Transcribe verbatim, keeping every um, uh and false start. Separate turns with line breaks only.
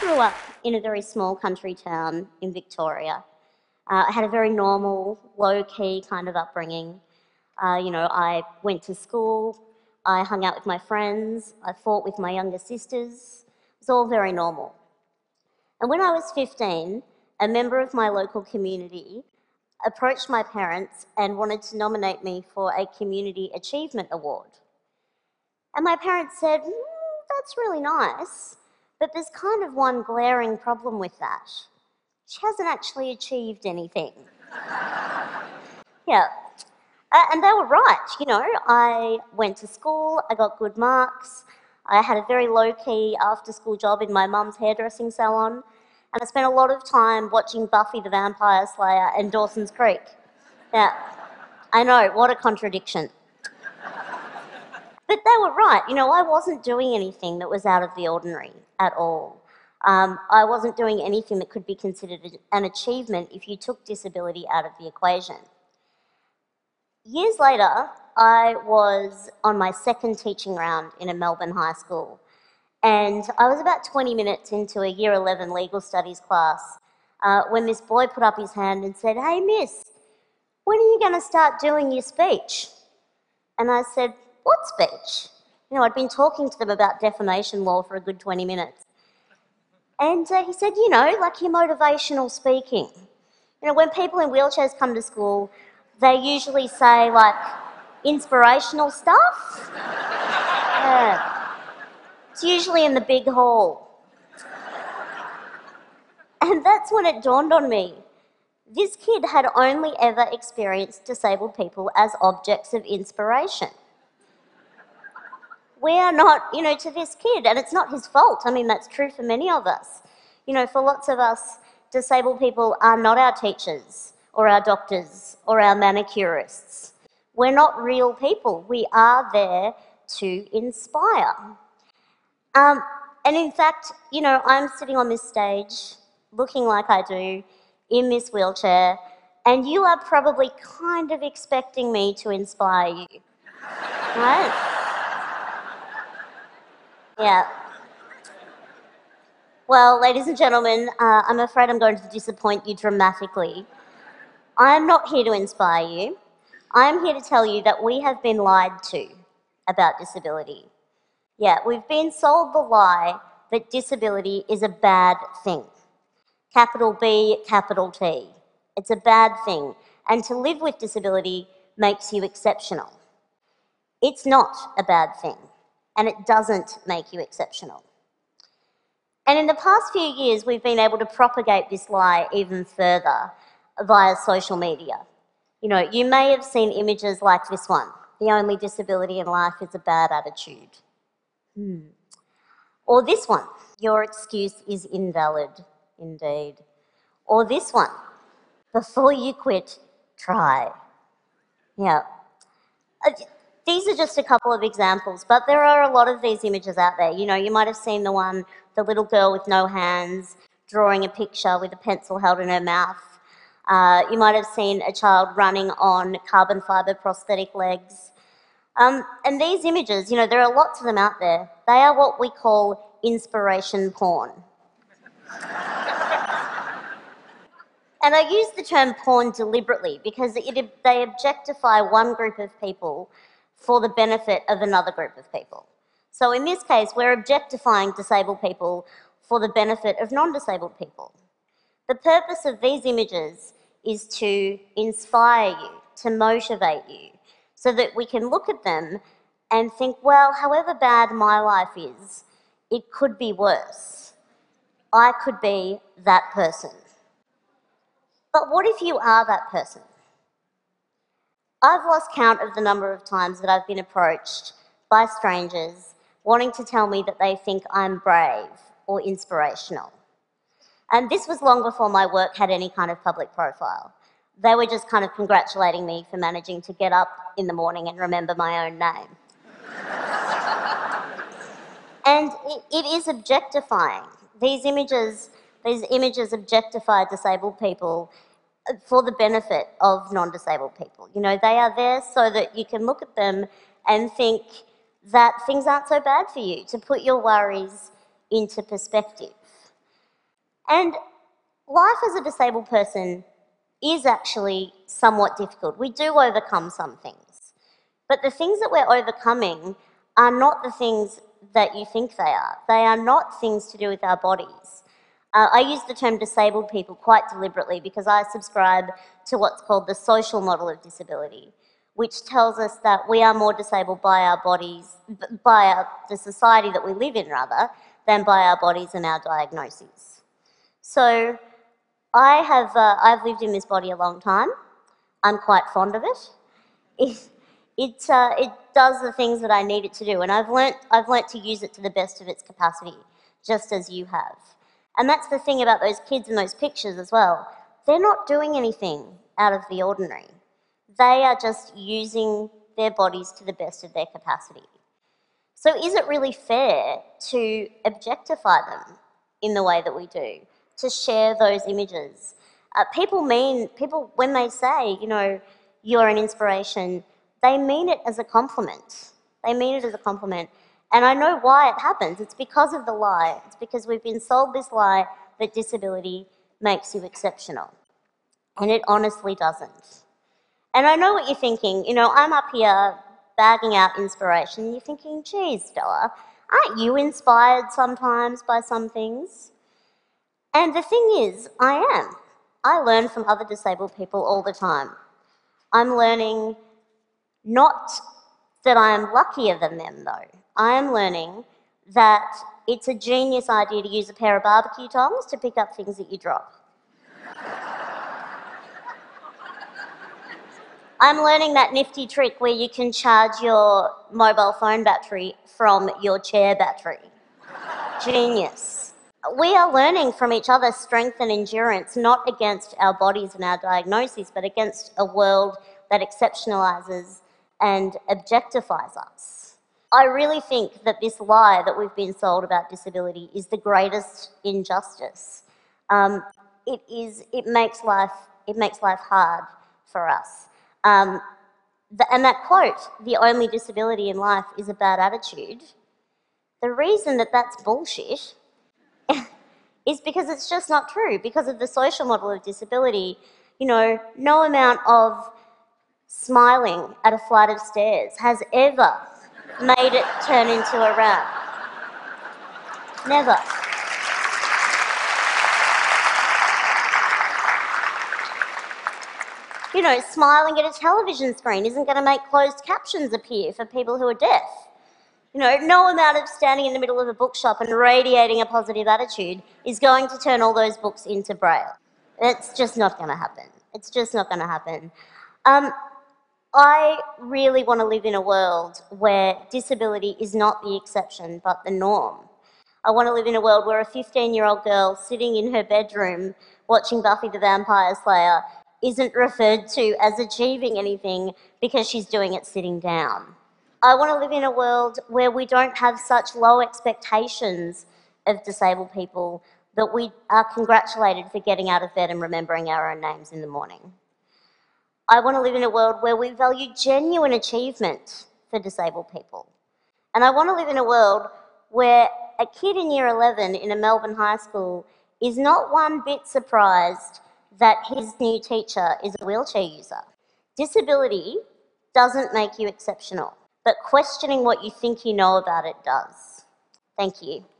grew up in a very small country town in Victoria. Uh, I had a very normal, low-key kind of upbringing. Uh, you know, I went to school, I hung out with my friends, I fought with my younger sisters. It was all very normal. And when I was fifteen, a member of my local community approached my parents and wanted to nominate me for a Community Achievement Award. And my parents said, mm, that's really nice, but there's kind of one glaring problem with that. She hasn't actually achieved anything. Yeah, uh, and they were right, you know. I went to school, I got good marks, I had a very low-key after-school job in my mum's hairdressing salon, and I spent a lot of time watching Buffy the Vampire Slayer and Dawson's Creek. Yeah, I know, what a contradiction. But they were right, you know, I wasn't doing anything that was out of the ordinary at all. Um, I wasn't doing anything that could be considered an achievement if you took disability out of the equation. Years later, I was on my second teaching round in a Melbourne high school, and I was about twenty minutes into a year eleven legal studies class uh, when this boy put up his hand and said, "Hey miss, when are you going to start doing your speech?" And I said, "What speech?" You know, I'd been talking to them about defamation law for a good twenty minutes. And uh, he said, you know, like your motivational speaking. You know, when people in wheelchairs come to school, they usually say, like, inspirational stuff. Yeah. It's usually in the big hall. And that's when it dawned on me. This kid had only ever experienced disabled people as objects of inspiration. We are not, you know, to this kid, and it's not his fault. I mean, that's true for many of us. You know, for lots of us, disabled people are not our teachers or our doctors or our manicurists. We're not real people. We are there to inspire. Um, and in fact, you know, I'm sitting on this stage, looking like I do, in this wheelchair, and you are probably kind of expecting me to inspire you, right? Yeah. Well, ladies and gentlemen, uh, I'm afraid I'm going to disappoint you dramatically. I'm not here to inspire you. I'm here to tell you that we have been lied to about disability. Yeah, we've been sold the lie that disability is a bad thing. Capital B, capital T. It's a bad thing. And to live with disability makes you exceptional. It's not a bad thing. And it doesn't make you exceptional. And in the past few years, we've been able to propagate this lie even further via social media. You know, you may have seen images like this one. The only disability in life is a bad attitude. Hmm. Or this one. Your excuse is invalid, indeed. Or this one. Before you quit, try. Yeah. Uh, These are just a couple of examples, but there are a lot of these images out there. You know, you might have seen the one, the little girl with no hands, drawing a picture with a pencil held in her mouth. Uh, you might have seen a child running on carbon fibre prosthetic legs. Um, and these images, you know, there are lots of them out there. They are what we call inspiration porn. And I use the term porn deliberately because it, they objectify one group of people for the benefit of another group of people. So in this case, we're objectifying disabled people for the benefit of non-disabled people. The purpose of these images is to inspire you, to motivate you, so that we can look at them and think, well, however bad my life is, it could be worse. I could be that person. But what if you are that person? I've lost count of the number of times that I've been approached by strangers wanting to tell me that they think I'm brave or inspirational. And this was long before my work had any kind of public profile. They were just kind of congratulating me for managing to get up in the morning and remember my own name. And it, it is objectifying. These images, these images objectify disabled people for the benefit of non-disabled people. You know, they are there so that you can look at them and think that things aren't so bad for you, to put your worries into perspective. And life as a disabled person is actually somewhat difficult. We do overcome some things. But the things that we're overcoming are not the things that you think they are. They are not things to do with our bodies. Uh, I use the term disabled people quite deliberately because I subscribe to what's called the social model of disability, which tells us that we are more disabled by our bodies, by our, the society that we live in rather, than by our bodies and our diagnoses. So I have, uh, I've lived in this body a long time. I'm quite fond of it. It, it, uh, it does the things that I need it to do, and I've learnt, I've learnt to use it to the best of its capacity, just as you have. And that's the thing about those kids in those pictures as well. They're not doing anything out of the ordinary. They are just using their bodies to the best of their capacity. So is it really fair to objectify them in the way that we do, to share those images? Uh, people mean, people, when they say, you know, you're an inspiration, they mean it as a compliment. They mean it as a compliment. And I know why it happens. It's because of the lie. It's because we've been sold this lie that disability makes you exceptional. And it honestly doesn't. And I know what you're thinking. You know, I'm up here bagging out inspiration. You're thinking, geez, Stella, aren't you inspired sometimes by some things? And the thing is, I am. I learn from other disabled people all the time. I'm learning not that I am luckier than them, though. I am learning that it's a genius idea to use a pair of barbecue tongs to pick up things that you drop. I'm learning that nifty trick where you can charge your mobile phone battery from your chair battery. Genius. We are learning from each other strength and endurance, not against our bodies and our diagnoses, but against a world that exceptionalizes and objectifies us. I really think that this lie that we've been sold about disability is the greatest injustice. Um, it is. It makes life. It makes life hard for us. Um, the, and that quote, "The only disability in life is a bad attitude." The reason that that's bullshit is because it's just not true. Because of the social model of disability, you know, no amount of smiling at a flight of stairs has ever made it turn into a rap. Never. You know, smiling at a television screen isn't going to make closed captions appear for people who are deaf. You know, no amount of standing in the middle of a bookshop and radiating a positive attitude is going to turn all those books into Braille. It's just not going to happen. It's just not going to happen. Um, I really want to live in a world where disability is not the exception but the norm. I want to live in a world where a fifteen-year-old girl sitting in her bedroom watching Buffy the Vampire Slayer isn't referred to as achieving anything because she's doing it sitting down. I want to live in a world where we don't have such low expectations of disabled people that we are congratulated for getting out of bed and remembering our own names in the morning. I want to live in a world where we value genuine achievement for disabled people. And I want to live in a world where a kid in year eleven in a Melbourne high school is not one bit surprised that his new teacher is a wheelchair user. Disability doesn't make you exceptional, but questioning what you think you know about it does. Thank you.